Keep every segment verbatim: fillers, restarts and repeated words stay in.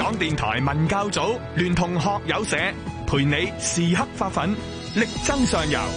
港電台文教組聯同學友社，陪你時刻發奮，力爭上游。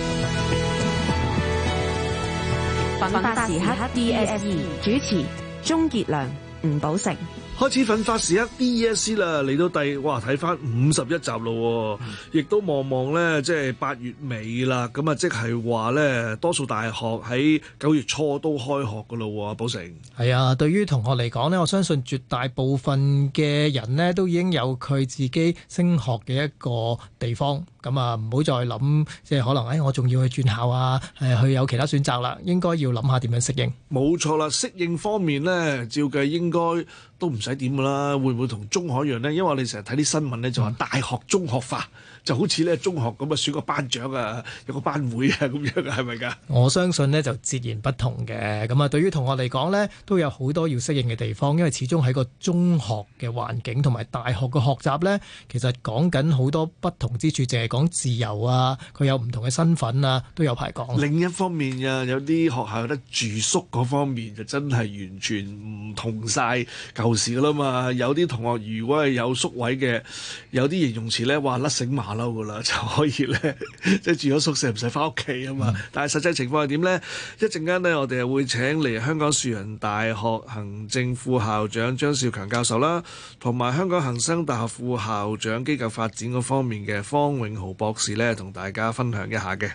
奮發時刻 D S E 主持鍾傑良、吳寶成。 開始奮發時刻 D E S C 啦，嚟到第哇睇翻五十一集咯，亦、嗯、都望望咧，即係八月尾啦，咁啊即係話咧，多數大學喺九月初都開學噶咯，寶成。 係啊，對於同學嚟講咧，我相信絕大部分嘅人咧都已經有佢自己升學嘅一個地方，咁啊唔好再諗，即係可能誒、哎、我仲要去轉校啊，誒去有其他選擇啦，應該要諗下點樣適應。 冇錯啦，適應方面咧，照計應該都唔使點噶啦，會唔會同中學一樣呢？因為我哋成日睇啲新聞咧，就話大學中學化，就好似咧中學咁啊，選個班長啊，有個班會啊咁樣嘅，係咪㗎？我相信呢就截然不同嘅。咁啊，對於同學嚟講呢，都有好多要適應嘅地方，因為始終喺個中學嘅環境同埋大學嘅學習呢，其實講緊好多不同之處，淨係講自由啊，佢有唔同嘅身份啊，都有排講。另一方面啊，有啲學校有得住宿嗰方面就真係完全唔同晒舊時㗎啦嘛。有啲同學如果係有宿位嘅，有啲形容詞咧話甩繩馬騮噶啦，就可以咧即係住咗宿舍唔使翻屋企啊嘛。嗯、但係實際情況係點咧？一陣間咧，我哋會請嚟香港樹仁大學行政副校長張少強教授啦，同埋香港恒生大學副校長機構發展嗰方面嘅方永豪博士咧，同大家分享一下嘅。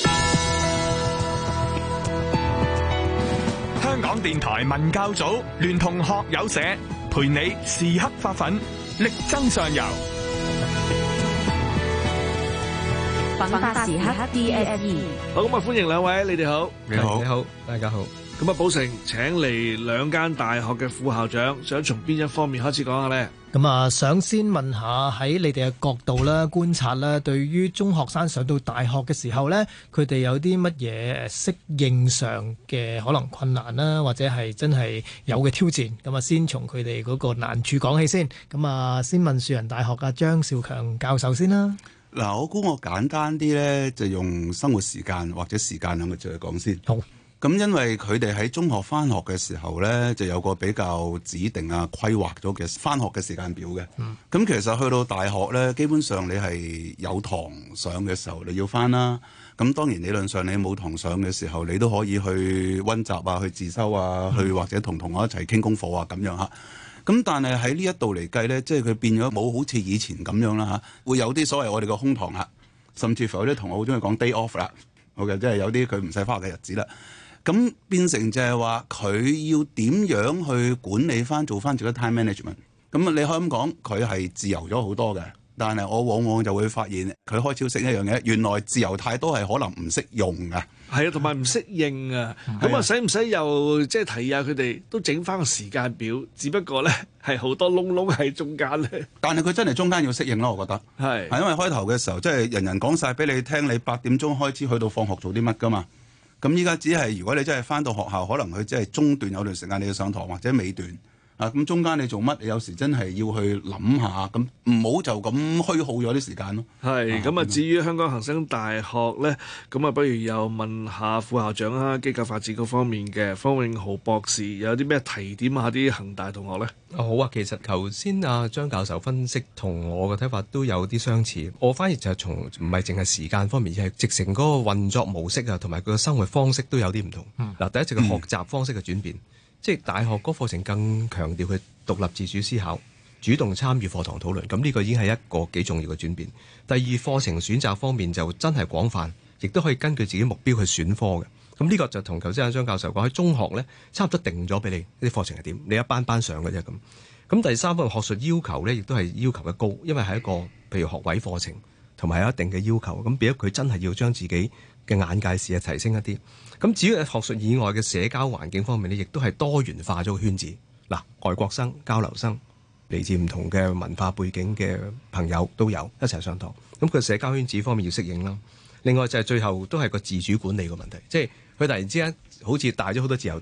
香港電台文教組聯同學友社，陪你時刻發奮，力爭上游。 奮發時刻 D S E。 好，咁啊，歡迎兩位，你哋好。 你好，你好，大家好。 咁啊，寶成請嚟兩間大學嘅副校長，想從邊一方面開始講下呢？ 咁啊，想先問下喺你哋嘅角度啦、觀察啦，對於中學生上到大學嘅時候呢，佢哋有啲乜嘢適應上嘅可能困難啦，或者係真係有嘅挑戰？咁啊，先從佢哋嗰個難處講起先。咁啊，先問樹仁大學嘅張少強教授先啦。 嗱，我估我簡單啲咧，就用生活時間或者時間兩個字去講先。 好。 咁因為佢哋喺中學返學嘅時候咧，就有個比較指定啊規劃咗嘅返學嘅時間表嘅。咁、嗯、其實去到大學咧，基本上你係有堂上嘅時候你要返啦。咁當然理論上你冇堂上嘅時候，你都可以去溫習啊、去自修啊、嗯、去或者同同學一齊傾功課啊咁樣嚇。咁但係喺呢一度嚟計咧，即係佢變咗冇好似以前咁樣啦嚇，會有啲所謂我哋嘅空堂啦，甚至乎有啲同學好中意講 day off 啦，好嘅，即係有啲佢唔使返學嘅日子啦。咁變成就係話佢要點樣去管理翻做翻自己 time management。咁啊，你可以咁講，佢係自由咗好多嘅。但係我往往就會發現佢開始識一樣嘢，原來自由太多係可能唔識用㗎。 係啊，同埋唔適應啊。咁啊，使唔使又即係提下佢哋都整翻個時間表？只不過咧係好多窿窿喺中間咧。 但係佢真係中間要適應咯，我覺得係。 係因為開頭嘅時候，即係人人講晒俾你聽，你八點鐘開始去到放學做啲乜㗎嘛。咁依家只係如果你真係返到學校，可能佢即係中段有段時間你要上堂，或者尾段啊，咁中間你做乜？你有時真係要去諗下，咁唔好就咁虛耗咗啲時間咯。 係咁啊！至於香港恒生大學咧，咁啊，不如又問下副校長啊，機構發展嗰方面嘅方永豪博士，有啲咩提點下啲恒大同學咧？ 好啊，其實頭先阿張教授分析同我嘅睇法都有啲相似，我反而就係從唔係淨係時間方面，而係直情嗰個運作模式啊，同埋佢嘅生活方式都有啲唔同。嗱、嗯，第一就係學習方式嘅轉變，嗯、即係大學嗰課程更強調佢獨立自主思考、主動參與課堂討論，咁呢個已經係一個幾重要嘅轉變。第二，課程選擇方面就真係廣泛，亦都可以根據自己目標去選科嘅。咁呢個就同頭先阿張教授講，喺中學咧，差唔多定咗俾你啲課程係點，你一班班上嘅啫咁。咁第三方面學術要求咧，亦都係要求嘅高，因為係一個譬如學位課程，同埋有一定嘅要求。咁變咗佢真係要將自己嘅眼界視野提升一啲。咁至於學術以外嘅社交環境方面咧，亦都係多元化咗個圈子。嗱，外國生、交流生，嚟自唔同嘅文化背景嘅朋友都有一齊上堂。咁佢社交圈子方面要適應啦。另外就係最後都係個自主管理嘅問題，即係佢突然之間好似大咗好多自由度，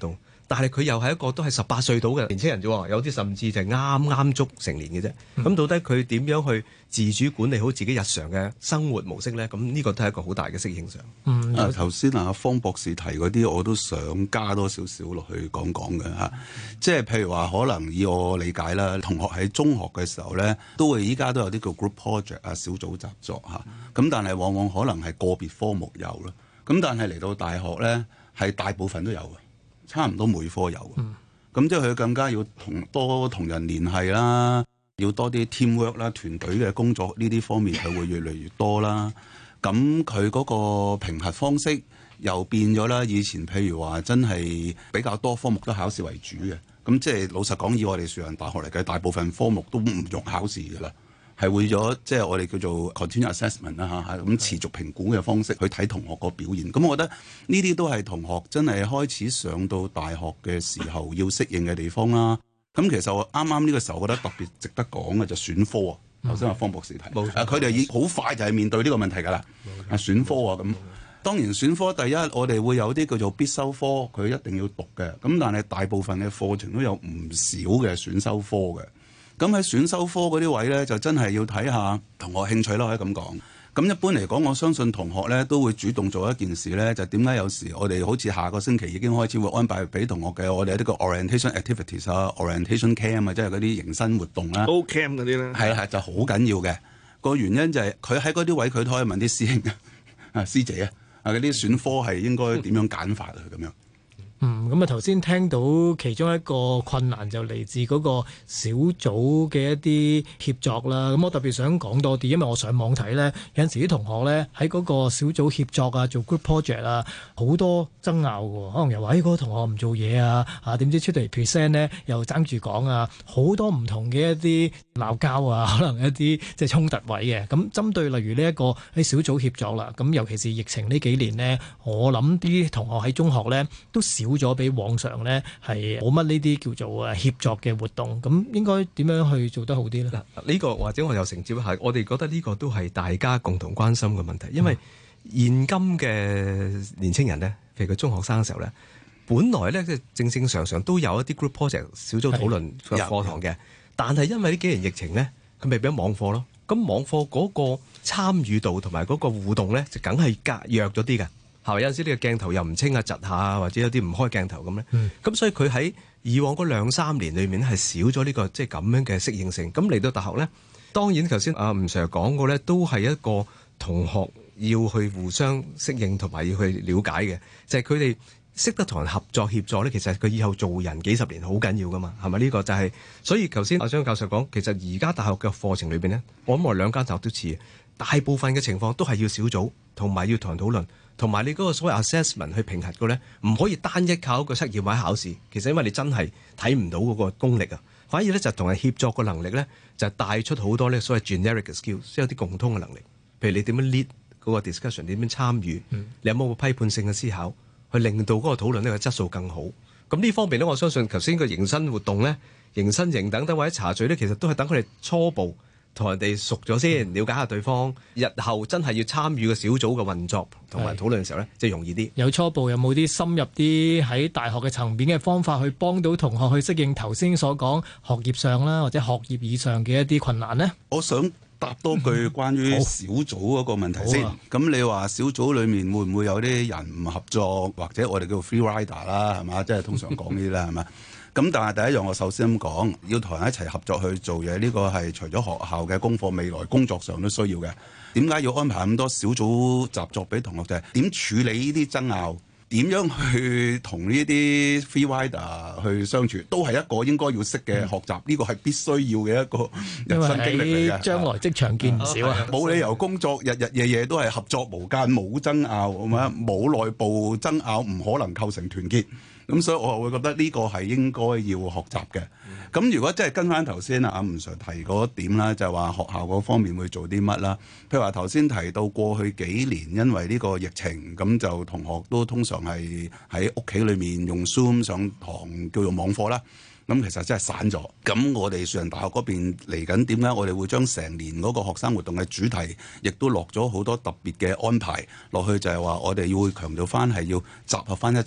但係佢又係一個都係十八歲到嘅年輕人啫喎，有啲甚至就係啱啱足成年嘅啫。咁、嗯、到底佢點樣去自主管理好自己日常嘅生活模式咧？咁呢個都係一個好大嘅適應上。 嗯， 啊頭先啊方博士提嗰啲，我都想加多少少落去講講嘅嚇。即係譬如話，可能以我理解啦，同學喺中學嘅時候咧，都會依家都有啲叫 group project 啊，小組習作嚇。咁、嗯、但係往往可能係個別科目有啦。咁但係嚟到大學咧，係大部分都有嘅，差唔多每科有。咁、嗯、即係佢更加要同多同人聯繫啦，要多啲 teamwork 啦，團隊嘅工作呢啲方面佢會越嚟越多啦。咁佢嗰個評核方式又變咗啦。以前譬如話真係比較多科目都考試為主嘅，咁即係老實講，以我哋樹仁大學嚟計，大部分科目都唔用考試㗎啦。係會咗，即係我哋叫做 continuous assessment 啦嚇，咁持續評估嘅方式去睇同學個表現。咁我覺得呢啲都係同學真係開始上到大學嘅時候要適應嘅地方啦。咁其實我啱啱呢個時候，我覺得特別值得講嘅就選科啊。頭先話方博士提，佢哋已好快就係面對呢個問題㗎啦。啊，選科啊咁，當然選科第一，我哋會有啲叫做必修科，佢一定要讀嘅。咁但係大部分嘅課程都有唔少嘅選修科嘅。咁喺選修科嗰啲位咧，就真係要睇下同學興趣啦，可以咁講。咁一般嚟講，我相信同學咧都會主動做一件事咧，就點解有時我哋好似下個星期已經開始會安排俾同學嘅，我哋有啲個 orientation activities 啊 ，orientation camp 啊，即係嗰啲迎新活動啦。 O camp 嗰啲咧，係係就好緊要嘅。個原因就係佢喺嗰啲位，佢都可以問啲師兄啊、師姐啊，啊嗰啲選科係應該點樣揀法啊咁樣。 嗯，咁啊頭先聽到其中一個困難就嚟自嗰個小組嘅一啲協作啦。咁我特別想講多啲，因為我上網睇咧，有陣時啲同學咧喺嗰個小組協作啊，做 group project 啊，好多爭拗嘅。可能又話誒嗰個同學唔做嘢啊，啊點知出嚟 present 咧又爭住講啊，好多唔同嘅一啲鬧交啊，可能一啲即係衝突位嘅。咁針對例如呢一個喺小組協作啦，咁尤其是疫情呢幾年呢，我諗啲同學喺中學咧都少咗比往常呢係冇乜呢啲叫做誒協作嘅活動，咁應該點樣去做得好啲呢？ 嗱，呢個或者我又承接一下，我哋覺得呢個都係大家共同關心嘅問題，因為現今嘅年青人呢，譬如佢中學生嘅時候呢，本來呢，即係正正常常都有一啲 group project 小組討論嘅課堂嘅，但係因為呢幾年疫情呢，佢咪變咗網課咯，咁網課嗰個參與度同埋嗰個互動呢，就梗係隔弱咗啲嘅。係咪有陣時呢個鏡頭又唔清啊、窒下，或者有啲唔開鏡頭咁咧？咁、嗯、所以佢喺以往嗰兩三年裏面係少咗呢、這個即係咁樣嘅適應性。咁嚟到大學咧，當然頭先阿吳 Sir 講過咧，都係一個同學要去互相適應同埋要去了解嘅，就係佢哋識得同人合作協助咧。其實佢以後做人幾十年好緊要噶嘛，係咪呢個就係、是？所以頭先阿張教授講，其實而家大學嘅課程裏邊咧，我諗我兩間大學都似，大部分嘅情況都係要小組同埋要同人討論。同埋你嗰個所謂 assessment 去評核嘅咧，唔可以單一靠一個測驗或者考試。其實因為你真係睇唔到嗰個功力啊，反而咧就同人協作嘅能力咧，就帶出好多咧所謂 generic 嘅 skills，即係有啲共通嘅能力。譬如你點樣 lead 嗰個 discussion，點樣參與，嗯、你有冇個批判性嘅思考，去令到嗰個討論呢個質素更好。咁呢方面咧，我相信頭先個迎新活動咧、迎新營等等或者茶敘咧，其實都係等佢哋初步同人哋熟咗先，了解下對方，日後真係要參與個小組嘅運作同埋討論嘅時候咧，即係容易啲。 有初步有冇啲深入啲喺大學嘅層面嘅方法去幫到同學去適應頭先所講學業上啦，或者學業以上嘅一啲困難呢？ 我想答多句關於小組嗰個問題先。咁、嗯啊、你話小組裡面會唔會有啲人唔合作，或者我哋叫做 free rider 啦，係嘛？即係通常講呢啲啦，係嘛？咁但係第一樣，我首先咁講，要同人一齊合作去做嘢，呢、這個係除咗學校嘅功課，未來工作上都需要嘅。點解要安排咁多小組習作俾同學？就係、是、點處理呢啲爭拗，點樣去同呢啲 free rider 去相處，都係一個應該要識嘅學習。呢、嗯、個係必須要嘅一個人生經歷嚟嘅。 將來職場見唔少啊！ 冇、啊、理由工作日日夜夜都係合作無間，冇爭拗，係嘛？冇內部爭拗，唔可能構成團結。咁所以我會覺得呢個係應該要學習嘅。咁、嗯、如果真係跟翻頭先啊阿吳 Sir 提嗰點啦，就係、是、話學校嗰方面會做啲乜啦？譬如話頭先提到過去幾年因為呢個疫情，咁就同學都通常係喺屋企裏面用 Zoom 上堂叫做網課啦。咁其實真係散咗。咁我哋樹仁大學嗰邊嚟緊點解我哋會將成年嗰個學生活動嘅主題，亦都落咗好多特別嘅安排落去，就係話我哋要強調翻係要集合翻一齊。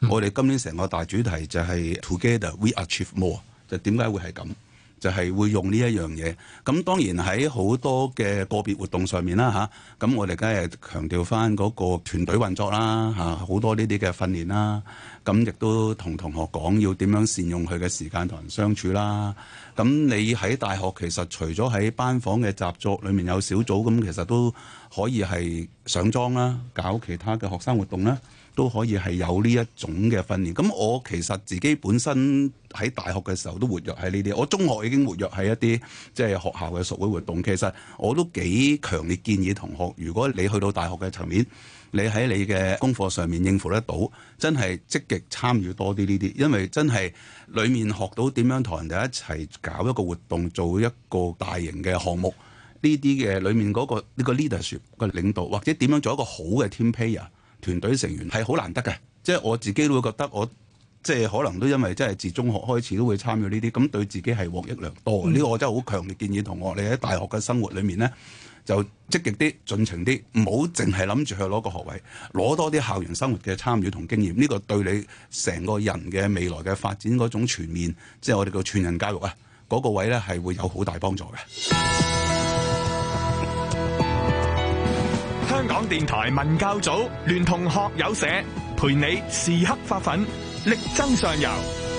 嗯、我哋今年成個大主題就係 Together We Achieve More， 就點解會係咁？就係會用呢一樣嘢。咁當然喺好多嘅個別活動上面啦嚇，咁我哋梗係強調翻嗰個團隊運作啦嚇，好多呢啲嘅訓練啦。咁亦都同同學講要點樣善用佢嘅時間同人相處啦。咁你喺大學其實除咗喺班房嘅習作裏面有小組，咁其實都可以係上莊啦，搞其他嘅學生活動啦。都可以係有呢一種嘅訓練。咁我其實自己本身喺大學嘅時候都活躍喺呢啲，我中學已經活躍喺一啲即係學校嘅屬會活動。其實我都幾強烈建議同學，如果你去到大學嘅層面，你喺你嘅功課上面應付得到，真係積極參與多啲呢啲，因為真係裡面學到點樣同人哋一齊搞一個活動，做一個大型嘅項目，呢啲嘅裡面嗰、嗰個呢、呢個 leadership 嘅領導，或者點樣做一個好嘅 team player。團隊成員係好難得嘅，即係我自己都會覺得我即係可能都因為即係自中學開始都會參與呢啲，咁對自己係獲益良多嘅。呢、嗯、個我真係好強烈建議同學，你喺大學嘅生活裏面咧，就積極啲、盡情啲，唔好淨係諗住去攞個學位，攞多啲校園生活嘅參與同經驗。呢、這個對你成個人嘅未來嘅發展嗰種全面，即係我哋叫全人教育啊，嗰、那個位咧係會有好大幫助嘅。 香港電台文教組聯同學友社，陪你時刻發奮，力爭上游。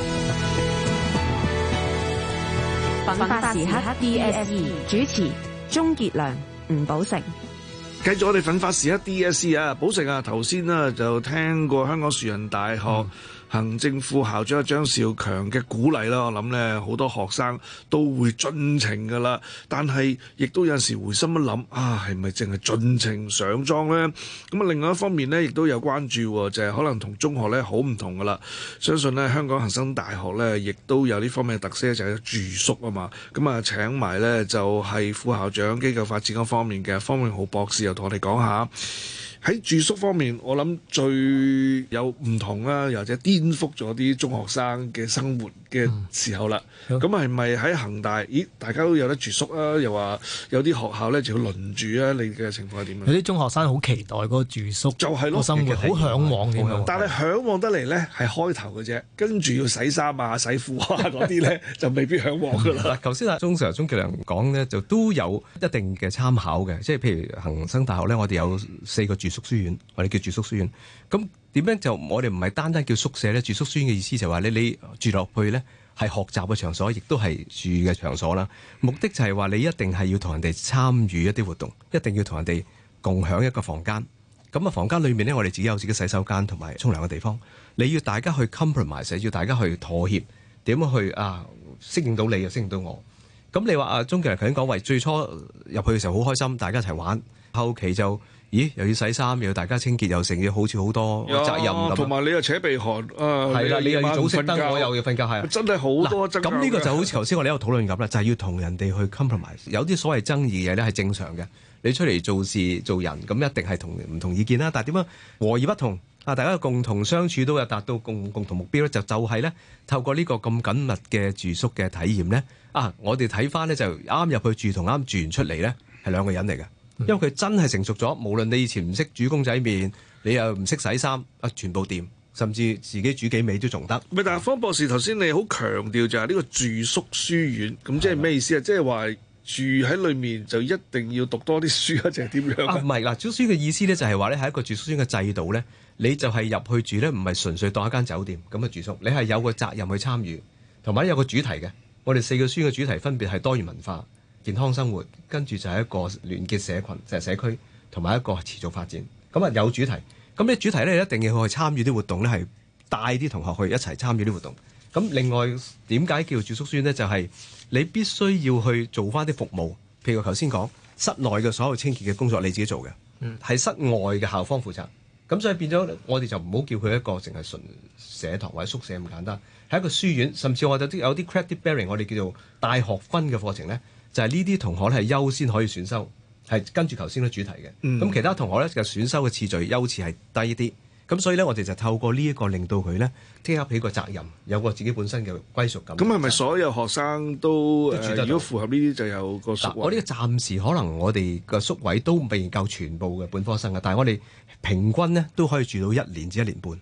奮發時刻 D S E 主持鍾傑良、吳寶成。 繼續我哋奮發時刻 D S E 啊，寶成啊，頭先呢就聽過香港樹仁大學、嗯行政副校長張兆強嘅鼓勵啦，我諗咧好多學生都會盡情噶啦，但係亦都有時回心一諗啊，係咪淨係盡情上莊咧？咁啊，另外一方面咧，亦都有關注，就係、是、可能同中學咧好唔同噶啦。相信咧香港恒生大學咧，亦都有呢方面嘅特色，就係住宿啊嘛。咁啊，請埋咧就係副校長機構發展嗰方面嘅方永浩博士，又同我哋講下。喺住宿方面，我諗最有唔同啦，又或者顛覆咗啲中學生嘅生活嘅時候啦。咁係咪喺恒大？咦，大家都有得住宿啊？又話有啲學校咧就要輪住啊？你嘅情況係點樣？ 有啲中學生好期待嗰個住宿，就係咯，生活好嚮往嘅。 但係嚮往得嚟咧係開頭嘅啫，跟住要洗衫啊、洗褲啊嗰啲咧就未必嚮往㗎啦。 嗱，頭先阿鐘 Sir、鐘傑良講咧，就都有一定嘅參考嘅，即係譬如恒生大學咧，我哋有四個住宿書院，我哋叫住宿書院。咁點樣就我哋唔係單單叫宿舍咧？住宿書院嘅意思就係話你你住落去咧係學習嘅場所，亦都係住嘅場所啦。目的就係話你一定係要同人哋參與一啲活動，一定要同人哋共享一個房間。咁啊，房間裏面咧，我哋自己有自己洗手間同埋沖涼嘅地方。你要大家去 compromise， 要大家去妥協，點樣去啊適應到你又適應到我。咁你話啊，鐘傑良頭先講話最初入去嘅時候好開心，大家一齊玩，後期就。咦，又要洗衫，又要大家清潔，又成要好似好多責任咁。 同埋你又扯鼻鼾，啊，係啦， 你又要早熄燈，我又要瞓覺，係啊， 真係好多爭拗。 咁呢個就好似頭先我哋喺度討論咁啦，就係、是、要同人哋去 compromise。有啲所謂爭議嘅嘢咧係正常嘅，你出嚟做事做人，咁一定係同唔同意見啦。但係點樣和而不同啊？大家共同相處都有達到共共同目標咧，就就係咧透過呢個咁緊密嘅住宿嘅體驗咧，啊，我哋睇翻咧就啱入去住同啱住完出嚟咧係兩個人嚟嘅。因為佢真係成熟咗，無論你以前唔識煮公仔麵，你又唔識洗衫，啊，全部掂，甚至自己煮幾味都仲得。 咪但係方博士頭先你好強調就係呢個住宿書院，咁即係咩意思啊？即係話住喺裏面就一定要讀多啲書啊，定係點樣啊？ 唔係嗱，住宿書嘅意思咧就係話咧係一個住宿書嘅制度咧，你就係入去住咧，唔係純粹當一間酒店咁嘅住宿，你係有個責任去參與，同埋有個主題嘅。我哋四個書嘅主題分別係多元文化、健康生活，跟住就係一個聯結社群，就係、是、社區，同埋一個持續發展。咁啊有主題，咁呢主題咧一定要去參與啲活動咧，係帶啲同學去一齊參與啲活動。咁另外點解叫住宿書院咧？就係、是、你必須要去做翻啲服務，譬如我頭先講室內嘅所有清潔嘅工作你自己做嘅，係、嗯、室外嘅校方負責。咁所以變咗我哋就唔好叫佢一個淨係純社堂或者宿舍咁簡單，係一個書院，甚至我哋有啲 credit bearing， 我哋叫做大學分嘅課程咧。就係呢啲同學咧係優先可以選修，係跟住頭先嘅主題嘅。咁、嗯、其他同學咧嘅選修嘅次序優次係低啲。咁所以咧，我哋就透過呢一個令到佢咧 take up 起個責任，有個自己本身嘅歸屬感。 咁係咪所有學生都，都、呃、如果符合呢啲就有個宿位？ 我呢個暫時可能我哋嘅宿位都未夠全部嘅本科生嘅，但係我哋平均咧都可以住到一年至一年半。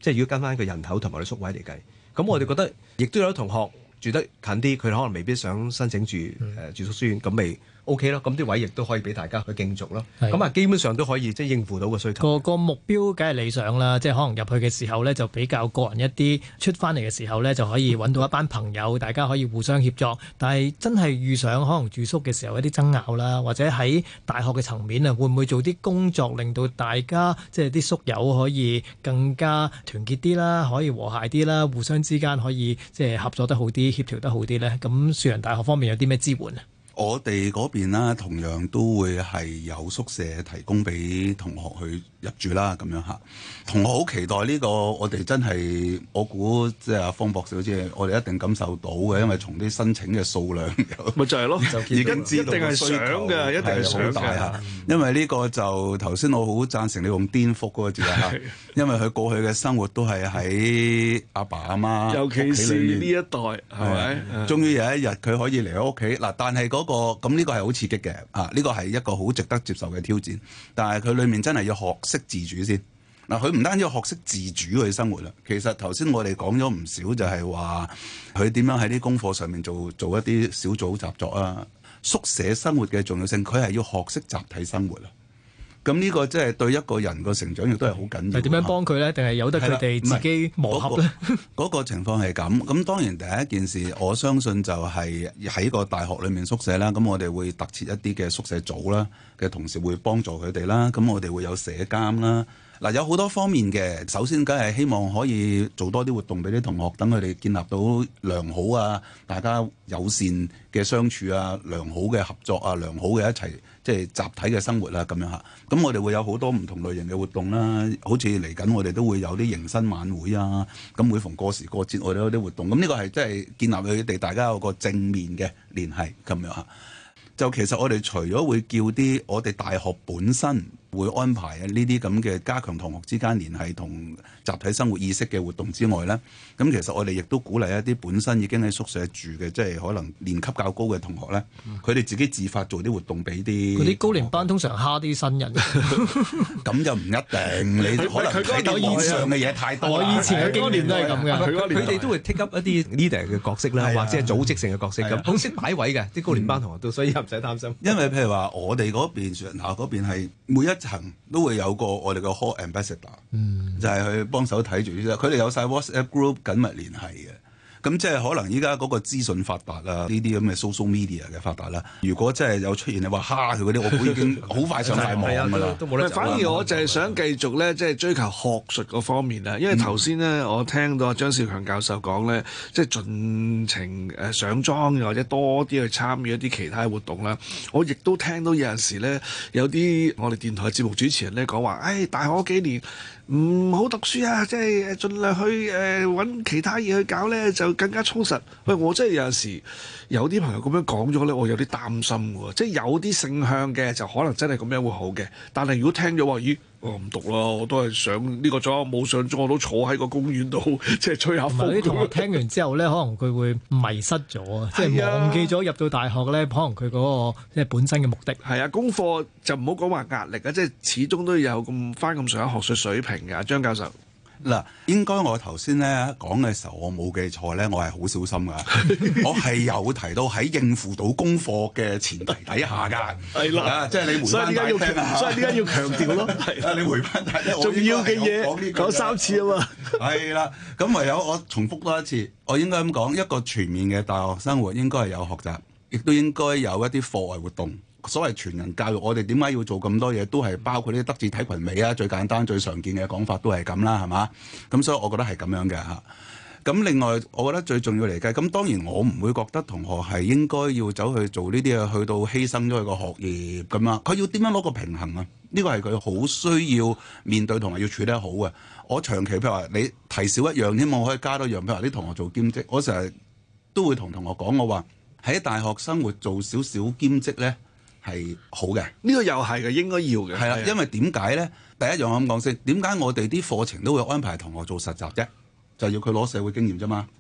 即係如果跟翻個人口同埋啲宿位嚟計，咁我哋覺得亦都有啲同學住得近啲，佢可能未必想申請住誒、呃、住宿書院，咁咪 O K 咯，咁啲位亦都可以俾大家去競逐咯。咁啊，基本上都可以即係應付到個需求。 個個目標梗係理想啦，即係可能入去嘅時候咧就比較個人一啲，出翻嚟嘅時候咧就可以揾到一班朋友，大家可以互相協作。但係真係遇上可能住宿嘅時候一啲爭拗啦，或者喺大學嘅層面啊，會唔會做啲工作令到大家即係啲宿友可以更加團結啲啦，可以和諧啲啦，互相之間可以即係合作得好啲，協調得好啲咧？咁樹仁大學方面有啲咩支援啊？ 我哋嗰邊啦，同樣都會係有宿舍提供俾同學去入住啦，咁樣嚇。同學好期待呢個，我哋真係我估即係阿方博士好似我哋一定感受到嘅，因為從啲申請嘅數量咪就係咯， 已經知道一定係想嘅，一定係想大嚇。因為呢個就頭先我好贊成你用顛覆嗰個字啊，因為佢過去嘅生活都係喺阿爸阿媽， 尤其是呢一代係咪？ 終於有一日佢可以離開屋企嗱，但係嗰個咁呢個係好刺激嘅啊！呢個係一個好值得接受嘅挑戰，但係佢裡面真係要學識自主先嗱。佢唔單止要學識自主去生活啦，其實頭先我哋講咗唔少，就係話佢點樣喺啲功課上面做做一啲小組習作啊。宿舍生活嘅重要性，佢係要學識集體生活啊。咁呢個即係對一個人個成長亦都係好緊要。 係點樣幫佢咧？定係由得佢哋自己磨合咧？ 嗰、嗰個情況係咁。咁當然第一件事，我相信就係喺個大學裏面宿舍啦。咁我哋會特設一啲嘅宿舍組啦，嘅同事會幫助佢哋啦。咁我哋會有社監啦。嗱，有好多方面嘅。首先，梗係希望可以做多啲活動俾啲同學，等佢哋建立到良好啊，大家友善嘅相處啊，良好嘅合作啊，良好嘅一齊即係集體嘅生活啦，咁樣嚇。咁我哋會有好多唔同類型嘅活動啦，好似嚟緊我哋都會有啲迎新晚會啊。咁每逢過時過節，我哋有啲活動。咁呢個係即係建立佢哋大家有個正面嘅聯繫咁樣嚇。就其實我哋除咗會叫啲我哋大學本身會安排呢啲咁嘅加強同學之間聯繫同集體生活意識嘅活動之外咧，咁其實我哋亦都鼓勵一啲本身已經喺宿舍住嘅，即係可能年級較高嘅同學咧，佢哋、嗯、自己自發做啲活動俾啲。 嗰啲高年班通常蝦啲新人， 咁就唔一定。你可能睇到以上嘅嘢太多。 我以前嘅經驗都係咁嘅， 佢哋都會 take up 一啲 leader 嘅角色啦，或者係組織性嘅角色咁，好識擺位嘅啲高年班同學都，所以唔使擔心。 因為譬如話，我哋嗰邊樹仁校嗰邊係每一層都會有個我哋嘅 hall ambassador，嗯、就係去幫手睇住呢啲。佢哋有晒 WhatsApp group 緊密聯繫嘅。咁即係可能依家嗰個資訊發達啦，呢啲咁嘅 social media 嘅發達啦。如果真係有出現你話蝦佢嗰啲，我估已經好快上晒網㗎啦。 都冇得。反而我就係想繼續咧，即係追求學術嗰方面啦。因為頭先咧，我聽到張兆強教授講咧，即係盡情誒上莊，又或者多啲去參與一啲其他活動啦。我亦都聽到有陣時咧，有啲我哋電台節目主持人咧講話，誒、哎、大學幾年唔好讀書啊，即係盡量去誒揾、呃、其他嘢去搞咧，就更加充實。喂，我真係有陣時有啲朋友咁樣講咗咧，我有啲擔心喎。即係有啲性向嘅就可能真係咁樣會好嘅，但係如果聽咗話，咦，我唔讀啦，我都係上呢個莊，冇上莊我都坐喺個公園度，即係吹下風。 啲同學聽完之後咧，可能佢會迷失咗啊，即係忘記咗入到大學咧，可能佢嗰個即係本身嘅目的。 係啊，功課就唔好講話壓力啊，即係始終都有咁翻咁上下學術水平㗎，張教授。 嗱，應該我頭先咧講嘅時候，我冇記錯咧，我係好小心㗎。我係有提到喺應付到功課嘅前提底下㗎。係啦，即係你回翻大聽啊！ 所以點解要強調咯？係啊，你回翻大聽，重要嘅嘢講三次啊嘛。係啦，咁唯有我重複多一次，我應該咁講，一個全面嘅大學生活應該係有學習，亦都應該有一啲課外活動。所謂全人教育，我哋點解要做咁多嘢？都係包括啲德智體群美啊，最簡單、最常見嘅講法都係咁啦，係嘛？咁所以我覺得係咁樣嘅嚇。咁另外，我覺得最重要嚟計，咁當然我唔會覺得同學係應該要走去做呢啲嘢，去到犧牲咗佢個學業咁啊。佢要點樣攞個平衡啊？呢個係佢好需要面對同埋要處理得好嘅。我長期譬如話你提少一樣，希望我可以加多樣。譬如話啲同學做兼職，我成日都會同同學講，我話喺大學生活做少少兼職咧。係好嘅， 呢個又係嘅，應該要嘅。 係啦，因為點解咧？第一樣我咁講先，點解我哋啲課程都會安排同學做實習啫？就係要佢攞社會經驗啫嘛。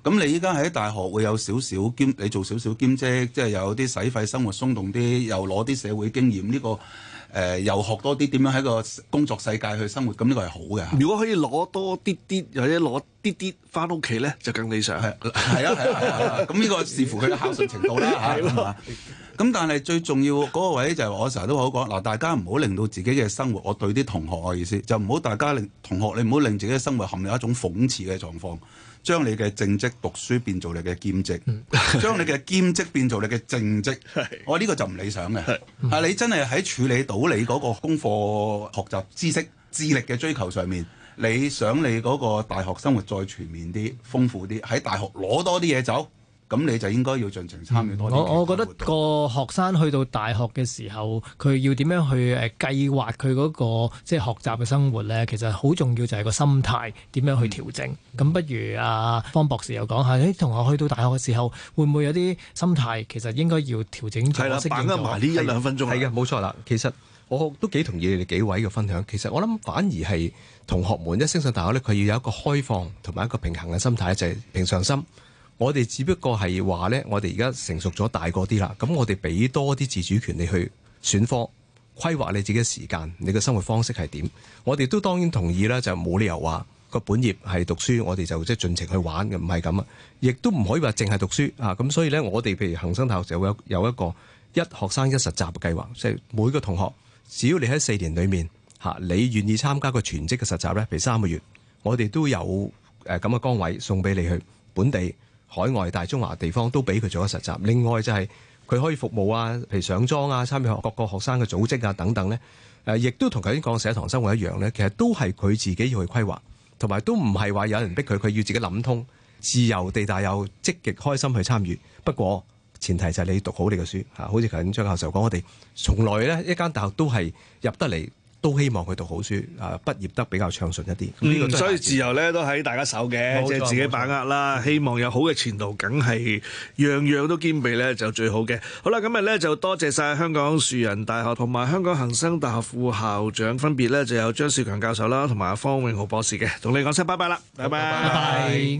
咁你依家喺大學會有少少兼，你做少少兼職，即係有啲使費生活鬆動啲，又攞啲社會經驗，呢、這個誒、呃、又學多啲點樣喺個工作世界去生活，咁呢個係好嘅。 如果可以攞多啲啲，或者攞啲啲翻屋企咧，就更理想。係係啊係啊係啊，咁呢個視乎佢嘅孝順程度啦嚇。係嘛？咁但係最重要嗰個位就係我成日都好講嗱，大家唔好令到自己嘅生活，我對啲同學嘅意思就唔好大家令同學你唔好令自己嘅生活陷入一種諷刺嘅狀況，將你嘅正職讀書變做你嘅兼職，將你嘅兼職變做你嘅正職，我呢、這個就唔理想嘅。係、嗯、你真係喺處理到你嗰個功課、學習知識、智力嘅追求上面，你想你嗰個大學生活再全面啲、豐富啲，喺大學攞多啲嘢走。咁你就應該要盡情參與多啲。 我我覺得個學生去到大學嘅時候，佢要點樣去誒計劃佢嗰個即係學習嘅生活咧？其實好重要就係個心態點樣去調整。咁、嗯、不如阿方博士又講下，啲同學去到大學嘅時候，會唔會有啲心態其實應該要調整咗？係啦， 把握埋呢一兩分鐘。 係嘅，冇錯啦。其實我都幾同意你哋幾位嘅分享。其實我諗反而係同學們一升上大學咧，佢要有一個開放同埋一個平衡嘅心態，就係、是、平常心。我哋只不過係話咧，我哋而家成熟咗大個啲啦，咁我哋俾多啲自主權你去選科，規劃你自己嘅時間，你嘅生活方式係點？我哋都當然同意啦，就冇理由話個本業係讀書，我哋就即係盡情去玩嘅，唔係咁啊！亦都唔可以話淨係讀書啊！咁所以咧，我哋譬如恒生大學就會有有一個一學生一實習嘅計劃，即係每個同學只要你喺四年裡面嚇，你願意參加個全職嘅實習咧，譬如三個月，我哋都有誒咁嘅崗位送俾你去本地、海外、大中華地方都俾佢做一實習。另外就係佢可以服務啊，譬如上莊啊、參與各個學生嘅組織啊等等咧。誒，亦都同頭先講社堂生活一樣咧，其實都係佢自己要去規劃，同埋都唔係話有人逼佢，佢要自己諗通，自由地大又積極開心去參與。不過前提就係你讀好你嘅書嚇，好似頭先張教授講，我哋從來咧一間大學都係入得嚟，都希望佢讀好書，啊畢業得比較暢順一啲。 嗯，所以自由咧都喺大家手嘅，即係自己把握啦。希望有好嘅前途，梗係樣樣都兼備咧就最好嘅。好啦，今日咧就多謝晒香港樹仁大學同埋香港恒生大學副校長，分別咧就有張兆強教授啦，同埋方永豪博士嘅，同你講聲拜拜啦，拜拜。拜拜。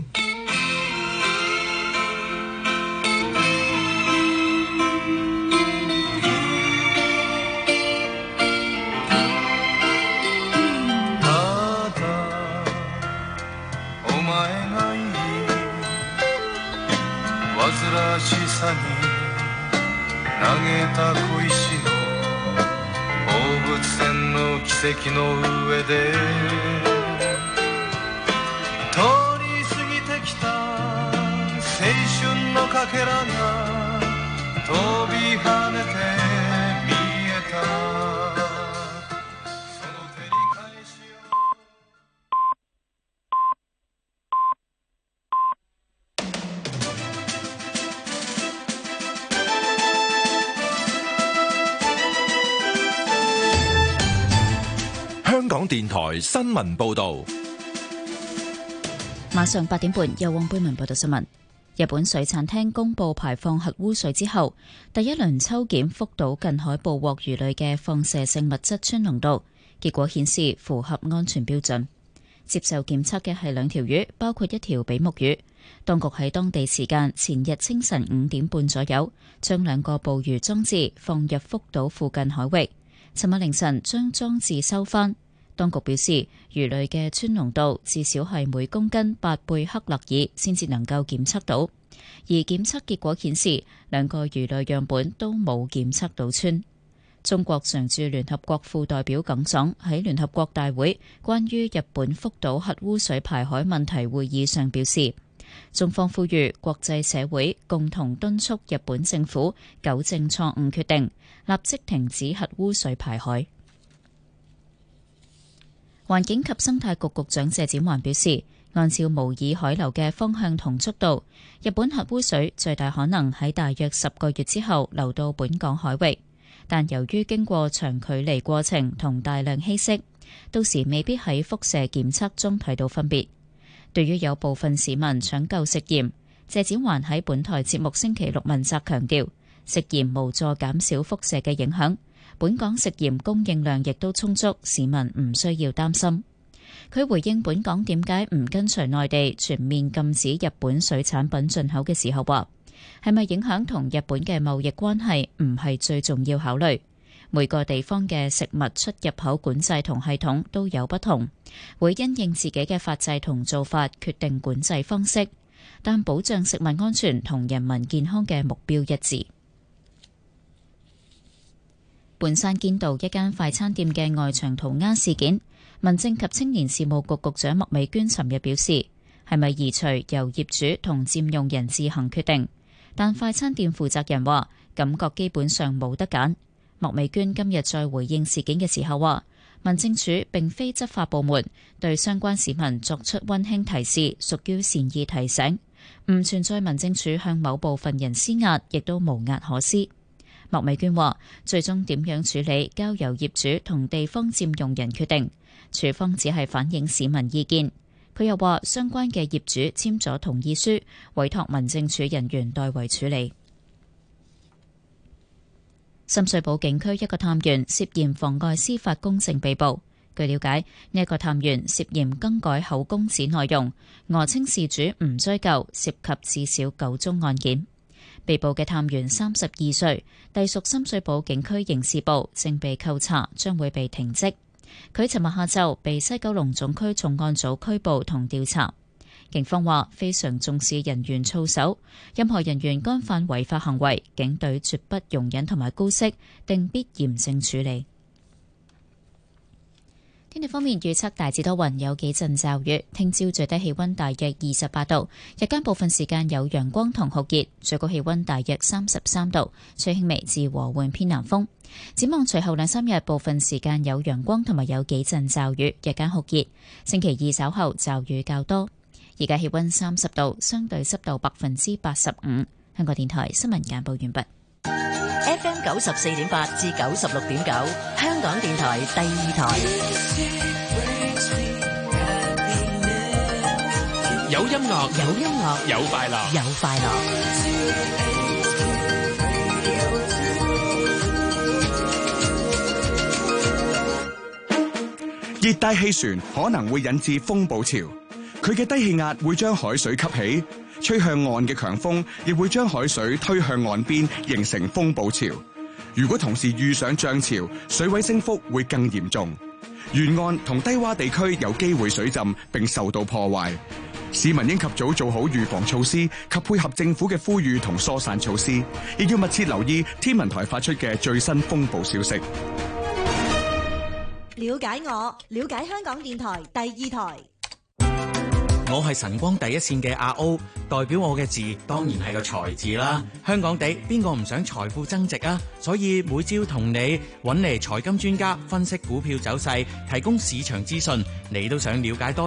しさに投げた小石の放物線の奇跡の上で通り過ぎてきた青春のかけらが飛び跳ねて見えたその照り返しを香港電台新聞報道， 晚上八點半由黃貝文報道新聞。日本水產廳公布排放核污水之後，第一輪抽檢福島近海捕獲魚類嘅放射性物質氚濃度，結果顯示符合安全標準。接受檢測嘅係兩條魚，包括一條比目魚。當局喺當地時間前日清晨五點半左右，將兩個捕魚裝置放入福島附近海域。尋日凌晨將裝置收返。當局表示，魚類嘅氚濃度至少係每公斤八貝克勒爾先至能夠檢測到，而檢測結果顯示兩個魚類樣本都冇檢測到氚。中國常駐聯合國副代表耿爽喺聯合國大會關於日本福島核污水排海問題會議上表示，中方呼籲國際社會共同敦促日本政府糾正錯誤決定，立即停止核污水排海。環境及生態局局長謝展寰表示，按照模擬海流嘅方向同速度，日本核污水最大可能喺大約十個月之後流到本港海域，但由於經過長距離過程同大量稀釋，到時未必喺輻射檢測中睇到分別。對於有部分市民搶購食鹽，謝展寰喺本台節目星期六問責強調，食鹽無助減少輻射嘅影響。本港食鹽供應量亦都充足，市民唔需要擔心。 佢回應本港點解唔跟隨內地全面禁止日本水產品進口嘅時候話，係咪影響同日本嘅貿易關係唔係最重要考慮。每個地方嘅食物出入口管制同系統都有不同，會因應自己嘅法制同做法決定管制方式，但保障食物安全同人民健康嘅目標一致。半山堅道一間快餐店嘅外牆塗鴉事件，民政及青年事務局局長麥美娟尋日表示，係咪移除由業主同佔用人自行決定，但快餐店負責人話感覺基本上冇得揀。麥美娟今日再回應事件嘅時候話，民政處並非執法部門，對相關市民作出溫馨提示屬於善意提醒，唔存在民政處向某部分人施壓，亦都無壓可施。麥美娟話，最終點樣處理交由業主同地方佔用人決定，處方只係反映市民意見。佢又話，相關嘅業主簽咗同意書，委託民政處人員代為處理。深水埗警區一個探員涉嫌妨礙司法公正被捕。據了解，呢一個探員涉嫌更改口供紙內容，訛稱事主唔追究，涉及至少九宗案件。被捕嘅探員三十二歲，隸屬深水埗警區刑事部，正被扣查，將會被停職。佢尋日下晝被西九龍總區重案組拘捕同調查。警方話非常重視人員操守，任何人員干犯違法行為，警隊絕不容忍同埋姑息，定必嚴正處理。天氣方面預測大致多雲，有幾陣驟雨。聽朝最低氣溫大約二十八度，日間部分時間有陽光同酷熱，最高氣溫大約三十三度，吹輕微至和緩偏南風。展望隨後兩三日，部分時間有陽光同埋有幾陣驟雨，日間酷熱。星期二稍後驟雨較多。而家氣溫三十度，相對濕度百分之八十五。香港電台新聞簡報完畢。 F M 九十四點八至九十六點九，香港電台第二台。 有音樂， 有音樂， 有快樂， 有快樂。 熱帶氣旋可能會引致風暴潮。佢嘅低氣壓會將海水吸起，吹向岸嘅強風亦會將海水推向岸邊，形成風暴潮。如果同時遇上漲潮，水位升幅會更嚴重，沿岸同低洼地區有機會水浸並受到破壞。市民應及早做好預防措施及配合政府嘅呼籲同疏散措施，亦要密切留意天文台發出嘅最新風暴消息。 了解我，了解香港電台第二台。 我係晨光第一線嘅阿 O， 代表我嘅字當然係個財字啦。香港地邊個唔想財富增值啊？所以每朝同你揾嚟財金專家分析股票走勢，提供市場資訊，你都想了解多